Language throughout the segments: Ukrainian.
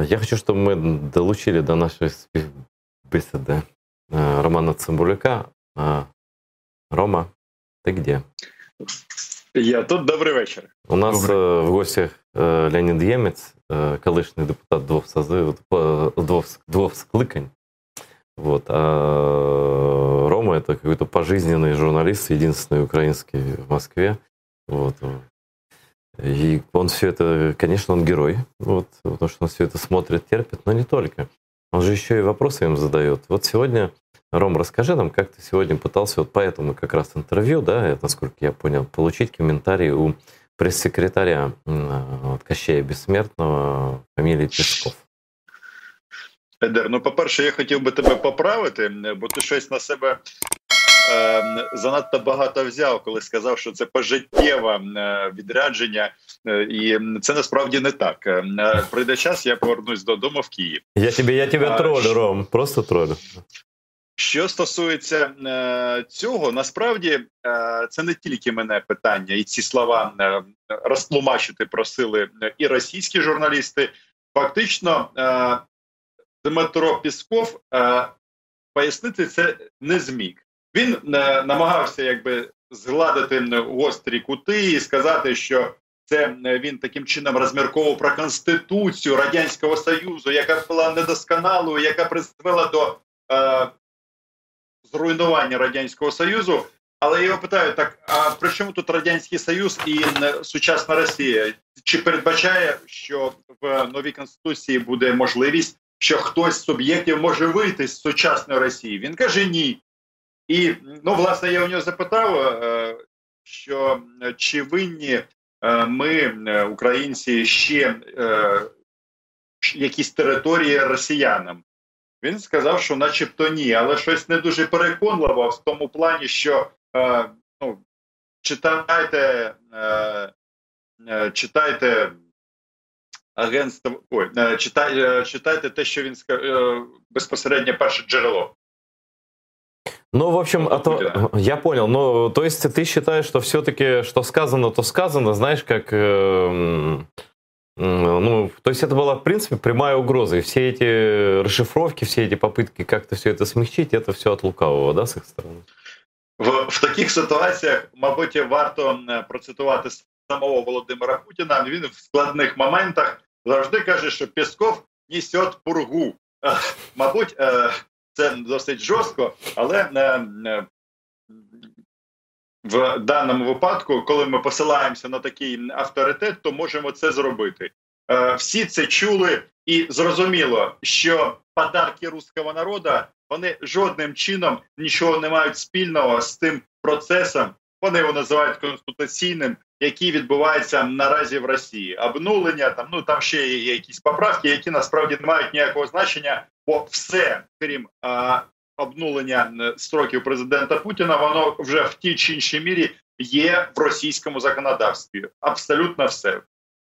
Я хочу, чтобы мы долучили до нашей беседы Романа Цимбалюка. Рома, ты где? Я тут, добрий вечір. У нас в гостях Леонід Ємець, колишній депутат двух скликань. Вот. А Рома — это какой-то пожизненный журналист, единственный украинский в Москве. Вот. И он все это, конечно, он герой, вот, потому что он все это смотрит, терпит, но не только. Он же еще и вопросы им задает. Вот сегодня, Ром, расскажи нам, как ты сегодня пытался вот по этому как раз интервью, да, насколько я понял, получить комментарий у пресс-секретаря вот, Кощея Безсмертного, фамилии Песков. Едер, ну, по-перше, я хотів би тебе поправити, бо ти щось на себе занадто багато взяв, коли сказав, що це пожиттєве відрядження, і це насправді не так. Прийде час, я повернусь додому в Київ. Я тебе тролю, Ром, просто тролю. Що стосується цього, насправді це не тільки мене питання, і ці слова розтлумачити просили і російські журналісти. Фактично, Дмитро Песков пояснити це не зміг. Він намагався якби згладити гострі кути і сказати, що це він таким чином розмірковував про Конституцію Радянського Союзу, яка була недосконалою, яка призвела до зруйнування Радянського Союзу. Але я його питаю, так, а при чому тут Радянський Союз і сучасна Росія? Чи передбачає, що в новій Конституції буде можливість, що хтось з суб'єктів може вийти з сучасної Росії? Він каже, ні. І, ну, власне, я у нього запитав, що чи винні ми, українці, ще якісь території росіянам. Він сказав, що начебто ні, але щось не дуже переконливо в тому плані, що ну, читайте агентство, читайте те, що він сказав, безпосередньо перше джерело. Ну, в общем, я понял. Ну, то есть ты считаешь, что все-таки, что сказано, то сказано, знаешь, как... ну, то есть это была, в принципе, прямая угроза. И все эти расшифровки, все эти попытки как-то все это смягчить, это все от лукавого, да, с их стороны? В таких ситуаціях, мабуть, варто процитувати самого Володимира Путіна. Він в складних моментах завжди каже, що Песков несе пургу. Мабуть, це досить жорстко, але в даному випадку, коли ми посилаємося на такий авторитет, то можемо це зробити. Всі це чули і зрозуміло, що подарки руського народу, вони жодним чином нічого не мають спільного з тим процесом, вони його називають конституційним, який відбувається наразі в Росії. Обнулення, там ще є якісь поправки, які насправді не мають ніякого значення, бо все, крім обнулення строків президента Путіна, воно вже в тій чи іншій мірі є в російскому законодавстве. Абсолютно все.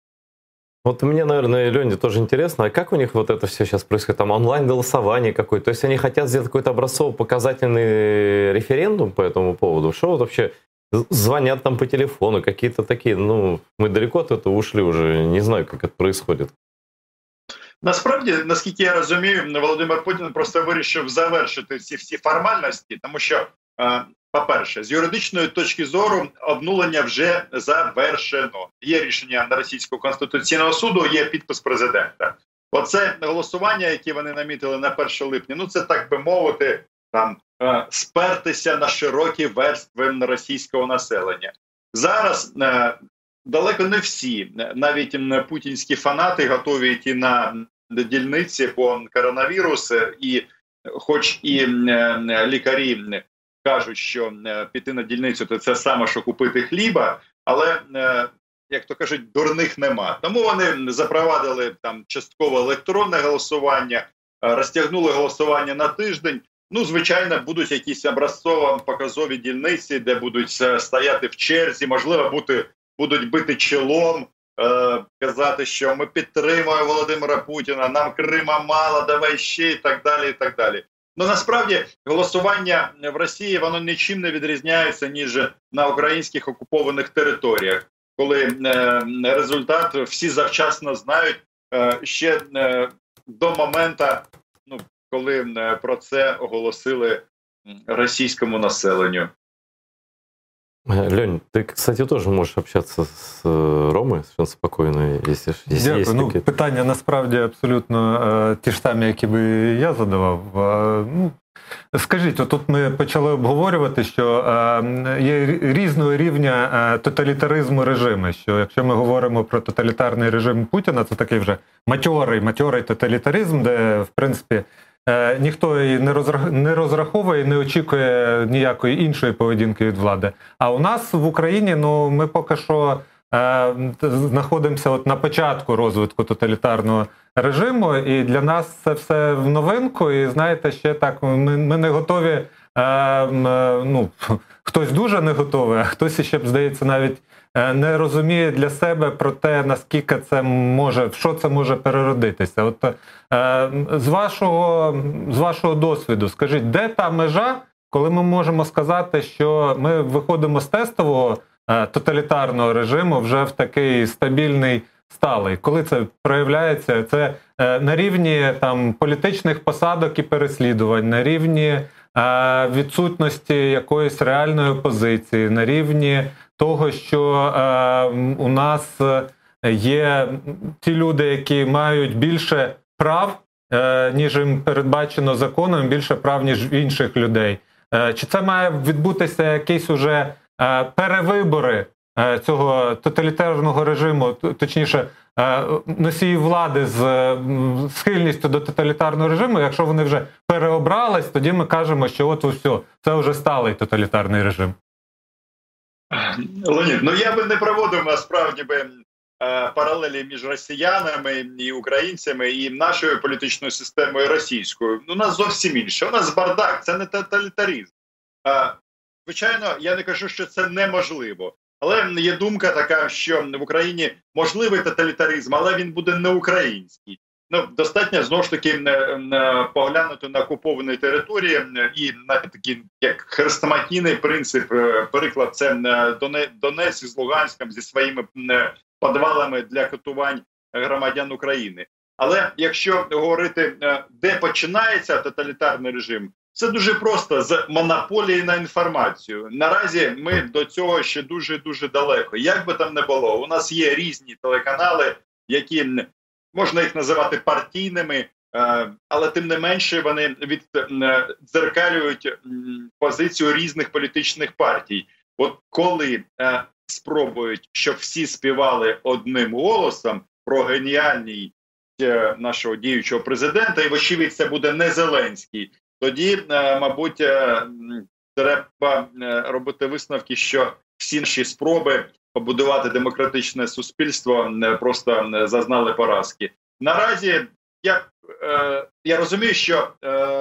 Вот мне, наверное, Лене тоже интересно, а как у них вот это все сейчас происходит? Там онлайн-голосование какое-то? То есть они хотят сделать какой-то образцово-показательный референдум по этому поводу? Что вот вообще звонят там по телефону, какие-то такие, ну, мы далеко от этого ушли уже, не знаю, как это происходит. Насправді, наскільки я розумію, Володимир Путін просто вирішив завершити всі формальності, тому що, по-перше, з юридичної точки зору обнулення вже завершено. Є рішення Російського конституційного суду, є підпис президента. Оце голосування, яке вони намітили на 1 липня, ну це, так би мовити, там спертися на широкі верстви російського населення. Зараз далеко не всі, навіть путінські фанати, готові йти на дільниці по коронавірусу, і хоч і лікарі кажуть, що піти на дільницю – то це саме, що купити хліба, але, як то кажуть, дурних нема. Тому вони запровадили там частково електронне голосування, розтягнули голосування на тиждень. Ну, звичайно, будуть якісь образцово-показові дільниці, де будуть стояти в черзі, можливо, будуть бити чолом, казати, що ми підтримуємо Володимира Путіна, нам Крима мало, давай ще, і так далі, і так далі. Ну, насправді, голосування в Росії, воно нічим не відрізняється, ніж на українських окупованих територіях, коли результат всі завчасно знають. Ще до моменту, ну, коли про це оголосили російському населенню. Лень, ты, кстати, тоже можешь общаться с Ромой совершенно спокойно, если Дякую. есть Ну, какие-то... питання насправді абсолютно ті ж самі, які би я задавав. Ну, скажіть, отут ми почали обговорювати, що є різного рівня тоталітаризму режими, що якщо ми говоримо про тоталітарний режим Путіна, це такий вже матьорий тоталітаризм, де, в принципі, ніхто і не розраховує, не очікує ніякої іншої поведінки від влади. А у нас в Україні, ну, ми поки що знаходимося от на початку розвитку тоталітарного режиму, і для нас це все в новинку, і знаєте, ще так, ми не готові, ну, хтось дуже не готовий, а хтось ще, здається, навіть не розуміє для себе про те, наскільки це може, в що це може переродитися. От з вашого досвіду, скажіть, де та межа, коли ми можемо сказати, що ми виходимо з тестового тоталітарного режиму вже в такий стабільний, сталий? Коли це проявляється? Це на рівні там політичних посадок і переслідувань, на рівні відсутності якоїсь реальної опозиції, на рівні того, що у нас є ті люди, які мають більше прав, ніж їм передбачено законом, більше прав, ніж в інших людей. Чи це має відбутися якісь уже перевибори цього тоталітарного режиму, точніше, носії влади з схильністю до тоталітарного режиму? Якщо вони вже переобрались, тоді ми кажемо, що от все, це вже сталий тоталітарний режим. Леонід, ну я би не проводив насправді паралелі між росіянами і українцями і нашою політичною системою російською. У нас зовсім інше. У нас бардак, це не тоталітаризм. Звичайно, я не кажу, що це неможливо. Але є думка така, що в Україні можливий тоталітаризм, але він буде не український. Ну, достатньо, знову ж таки, поглянути на окуповані території і на такий, як хрестоматійний принцип, приклад, це Донець із Луганськом зі своїми підвалами для катувань громадян України. Але якщо говорити, де починається тоталітарний режим, це дуже просто, з монополії на інформацію. Наразі ми до цього ще дуже-дуже далеко. Як би там не було, у нас є різні телеканали, які, можна їх називати партійними, але тим не менше вони віддзеркалюють позицію різних політичних партій. От коли спробують, щоб всі співали одним голосом про геніальність нашого діючого президента, і вочевидь це буде не Зеленський, тоді, мабуть, треба робити висновки, що всі наші спроби побудувати демократичне суспільство просто зазнали поразки. Наразі я розумію, що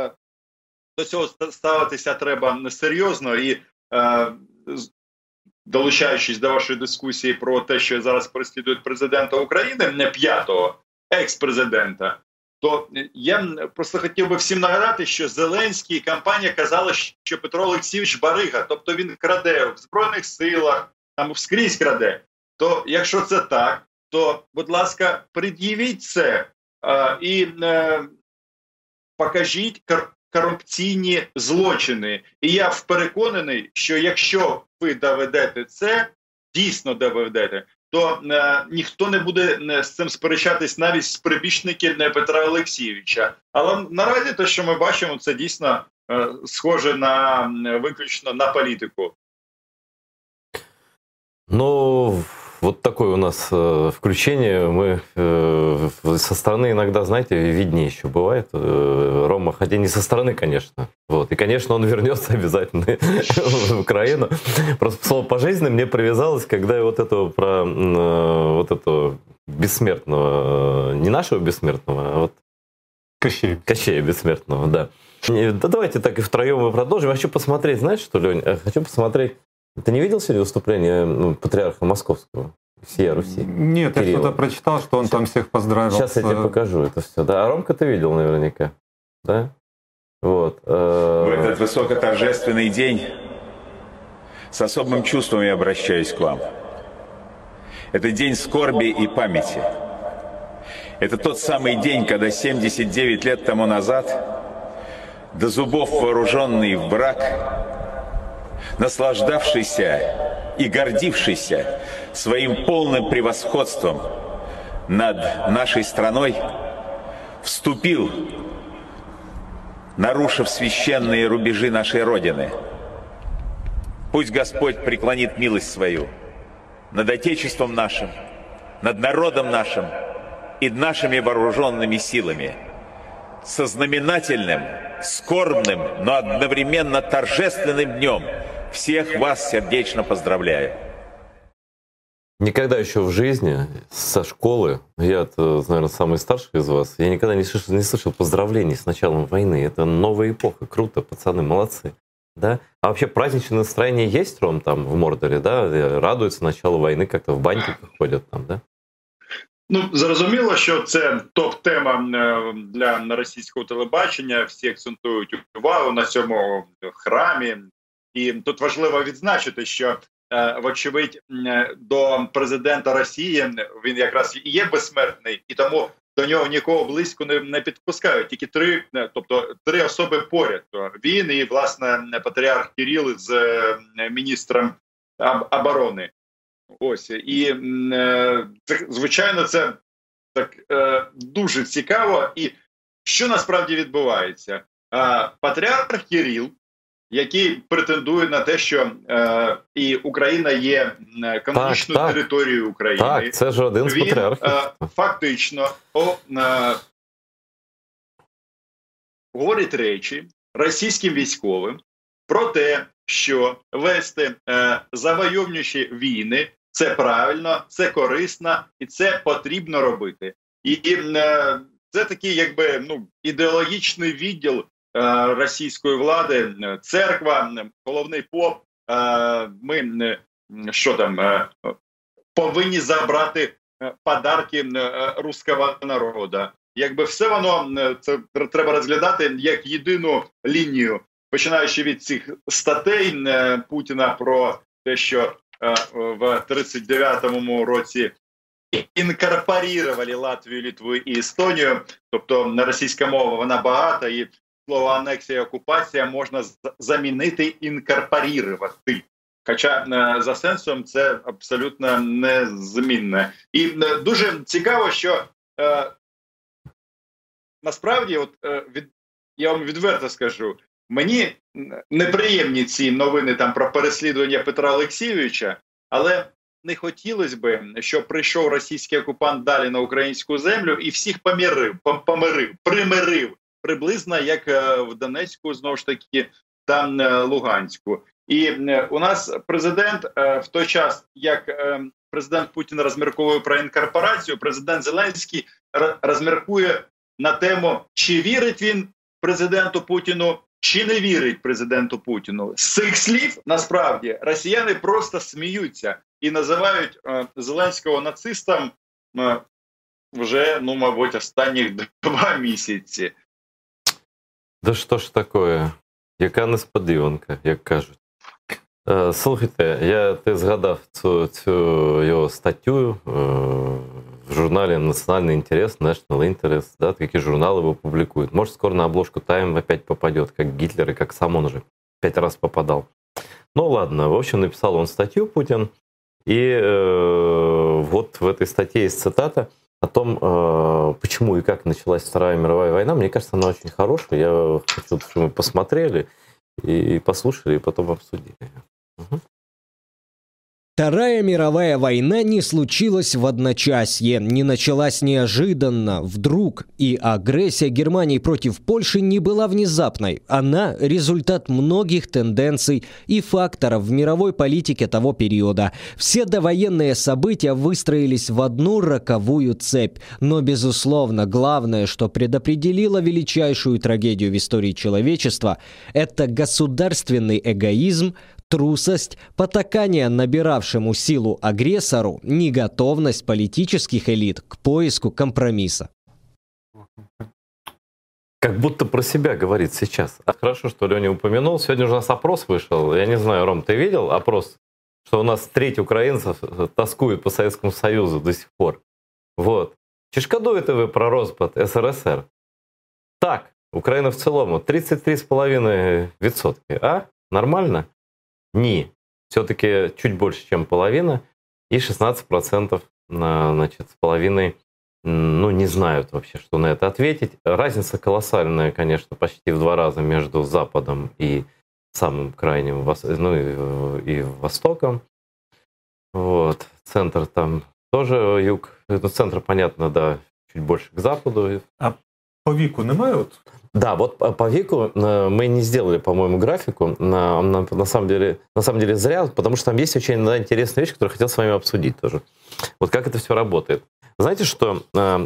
до цього ставитися треба несерйозно і, долучаючись до вашої дискусії про те, що зараз переслідують президента України, не п'ятого, екс-президента, то я просто хотів би всім нагадати, що Зеленський і компанія казали, що Петро Олексійович барига, тобто він краде в Збройних силах, там скрізь краде. То якщо це так, то, будь ласка, пред'явіть це і покажіть корупційні злочини. І я переконаний, що якщо ви доведете це, дійсно доведете, то ніхто не буде з цим сперечатись навіть з прибічників Петра Олексійовича. Але наразі те, що ми бачимо, це дійсно схоже на виключно на політику. Ну, вот такое у нас включение. Мы со стороны иногда, знаете, виднее еще бывает. Рома, хотя не со стороны, конечно. Вот. И, конечно, он вернется обязательно в Украину. Просто слово «пожизненно» мне привязалось, когда я вот этого про вот этого бессмертного, не нашего бессмертного, а вот Кощея бессмертного, да. Да давайте так и втроем мы продолжим. Я хочу посмотреть, знаешь что, Лень? Хочу посмотреть. Ты не видел сегодня выступление патриарха Московского, всея Руси? Нет, Кирилла? Я что-то прочитал, что он там всех поздравил. Сейчас я тебе покажу это все. Да, а Ромка ты видел наверняка, да? Вот. В этот высокоторжественный день с особым чувством я обращаюсь к вам. Это день скорби и памяти. Это тот самый день, когда 79 лет тому назад, до зубов вооруженный враг, наслаждавшийся и гордившийся своим полным превосходством над нашей страной, вступил, нарушив священные рубежи нашей Родины. Пусть Господь преклонит милость свою над Отечеством нашим, над народом нашим и нашими вооруженными силами. Со знаменательным, скорбным, но одновременно торжественным днем всех вас сердечно поздравляю. Никогда еще в жизни со школы, я, наверное, самый старший из вас, я никогда не слышал поздравлений с началом войны. Это новая эпоха, круто, пацаны, молодцы. Да? А вообще праздничное настроение есть, Ром, там в Мордорі, да? Радуються началу війни, як-то в баньки ходять там, да? Ну, зрозуміло, що це топ-тема для російського телебачення. Всі акцентують увагу на цьому храмі. І тут важливо відзначити, що, вочевидь, до президента Росії він якраз і є безсмертний, і тому до нього нікого близько не підпускають. Тільки три особи поряд. Він і, власне, патріарх Кирил з міністром оборони. Ось. І, звичайно, це так дуже цікаво. І що насправді відбувається? Патріарх Кирил, який претендує на те, що і Україна є канонічною територією України. Так, це ж один з патріархів. Фактично говорить речі російським військовим про те, що вести завойовнюючі війни – це правильно, це корисно і це потрібно робити. І це такий, якби, ідеологічний відділ російської влади, церква, головний поп, ми повинні забрати подарки руського народу. Якби все воно, це треба розглядати як єдину лінію, починаючи від цих статей Путіна про те, що в 39-му році інкорпорували Латвію, Литву і Естонію, тобто російська мова, вона багата, і слово анексія, окупація можна замінити інкорпорувати. Хоча за сенсом це абсолютно незмінне. І дуже цікаво, що насправді, я вам відверто скажу, мені неприємні ці новини там про переслідування Петра Олексійовича, але не хотілося б, щоб прийшов російський окупант далі на українську землю і всіх примирив, приблизно як в Донецьку, знову ж таки, там Луганську. І у нас президент в той час, як президент Путін розмірковує про інкорпорацію, президент Зеленський розміркує на тему, чи вірить він президенту Путіну, чи не вірить президенту Путіну. З цих слів, насправді, росіяни просто сміються і називають Зеленського нацистом вже, мабуть, останніх 2 місяці. Да що ж таке? Яка несподіванка, як кажуть. Слухайте, ти згадав цю його статтю в журнале «Национальный интерес», «National Interest», да, такие журналы его публикуют. Может, скоро на обложку «Тайм» опять попадет, как Гитлер и как сам он уже 5 раз попадал. Ну ладно, в общем, написал он статью, Путин, и вот в этой статье есть цитата о том, почему и как началась Вторая мировая война. Мне кажется, она очень хорошая. Я хочу, чтобы мы посмотрели и послушали, и потом обсудили. Угу. Вторая мировая война не случилась в одночасье, не началась неожиданно, вдруг, и агрессия Германии против Польши не была внезапной. Она – результат многих тенденций и факторов в мировой политике того периода. Все довоенные события выстроились в одну роковую цепь. Но, безусловно, главное, что предопределило величайшую трагедию в истории человечества – это государственный эгоизм, трусость, потакание набиравшему силу агрессору, неготовность политических элит к поиску компромисса. Как будто про себя говорит сейчас. Хорошо, что Леня упомянул. Сегодня у нас опрос вышел. Я не знаю, Ром, ты видел опрос? Что у нас треть украинцев тоскует по Советскому Союзу до сих пор. Вот. Чи шкодуєте ви про розпад СРСР? Так, Україна в цілому 33,5%. А? Нормально? Ні. Все-таки чуть больше, чем половина. И 16% значит, с половиной не знают вообще, что на это ответить. Разница колоссальная, конечно, почти в 2 раза между Западом и самым крайним, и Востоком. Вот. Центр там тоже юг. Центр, понятно, да, чуть больше к западу. А по віку немає? Да, вот по веку мы не сделали, по-моему, графику. На самом деле зря, потому что там есть очень интересная вещь, которую я хотел с вами обсудить тоже. Вот как это все работает. Знаете, что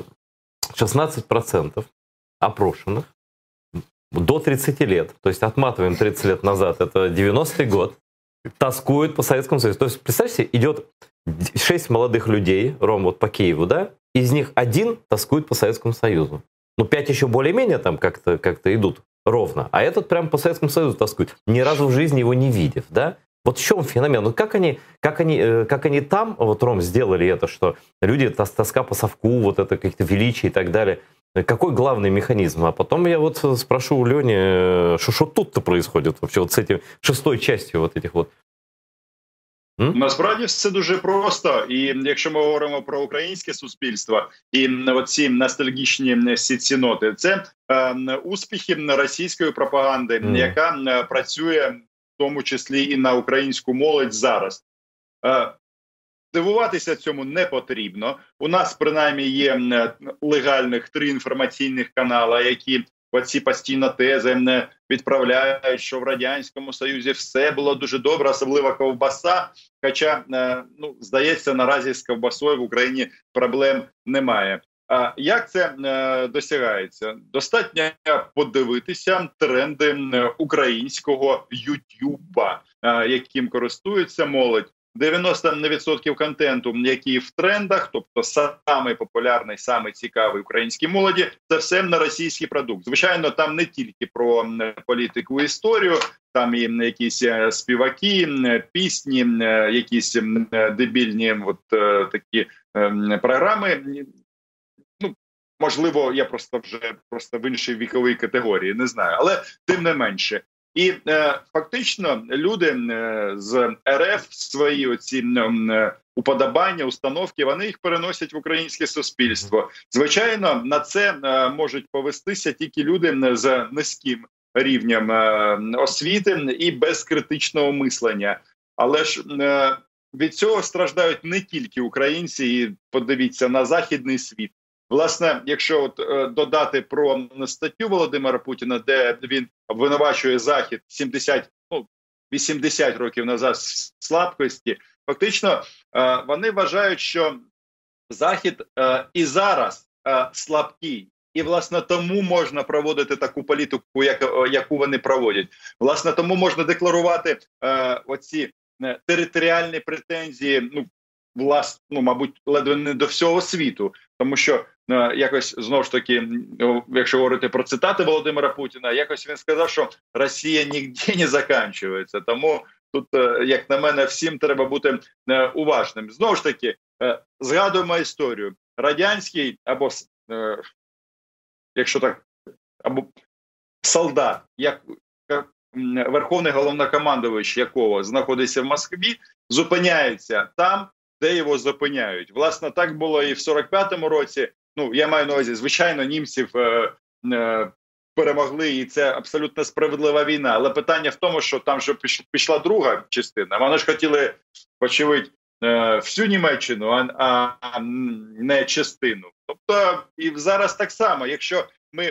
16% опрошенных до 30 лет, то есть отматываем 30 лет назад, это 90-й год, тоскуют по Советскому Союзу. То есть, представьте, идет 6 молодых людей, Ром, вот по Киеву, да, из них 1 тоскует по Советскому Союзу. 5 еще более-менее там как-то идут ровно, а этот прям по Советскому Союзу тоскует, ни разу в жизни его не видев, да? Вот в чем феномен? Как они там, вот, Ром, сделали это, что люди, тоска по совку, вот это какие-то величия и так далее. Какой главный механизм? А потом я вот спрошу у Лени, что тут-то происходит вообще вот с этим 6-й частью вот этих вот. Насправді все дуже просто, і якщо ми говоримо про українське суспільство і оці ностальгічні сіноти, це успіхи російської пропаганди, яка працює в тому числі і на українську молодь зараз. Дивуватися цьому не потрібно. У нас принаймні є легальних 3 інформаційних канали, які оці постійно тези відправляють, що в Радянському Союзі все було дуже добре, особливо ковбаса. Хоча, здається, наразі з ковбасою в Україні проблем немає. А як це досягається? Достатньо подивитися тренди українського Ютуба, яким користується молодь. 90% контенту, який в трендах, тобто самий популярний, самий цікавий українській молоді, це все на російський продукт. Звичайно, там не тільки про політику і історію, там і якісь співаки, пісні, якісь дебільні такі програми. Можливо, я просто в іншій віковій категорії, не знаю, але тим не менше. І фактично люди з РФ свої оці уподобання, установки, вони їх переносять в українське суспільство. Звичайно, на це можуть повестися тільки люди з низьким рівнем освіти і без критичного мислення. Але ж від цього страждають не тільки українці, і подивіться на західний світ. Власне, якщо додати про статтю Володимира Путіна, де він обвинувачує Захід 80 років назад слабкості, фактично вони вважають, що Захід і зараз слабкий. І, власне, тому можна проводити таку політику, яку вони проводять. Власне, тому можна декларувати оці територіальні претензії, мабуть, ледве не до всього світу. Тому що якось, знову ж таки, якщо говорити про цитати Володимира Путіна, якось він сказав, що Росія ніде не закінчується. Тому тут, як на мене, всім треба бути уважним. Знову ж таки, згадуємо історію. Радянський або, якщо так, або солдат, як верховний головнокомандувач якого знаходиться в Москві, зупиняється там, де його зупиняють. Власне, так було і в 45-му році. Я маю на увазі, звичайно, німців перемогли, і це абсолютно справедлива війна. Але питання в тому, що там вже пішла друга частина. Вони ж хотіли, очевидь, всю Німеччину, а не частину. Тобто, і зараз так само, якщо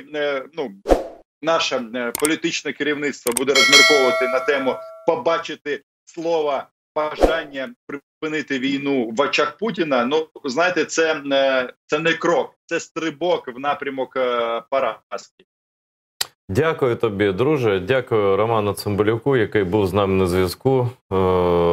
наше політичне керівництво буде розмірковувати на тему побачити слова бажання припинити війну в очах Путіна, знаєте, це не крок, це стрибок в напрямок поразки. Дякую тобі, друже. Дякую Роману Цимбалюку, який був з нами на зв'язку.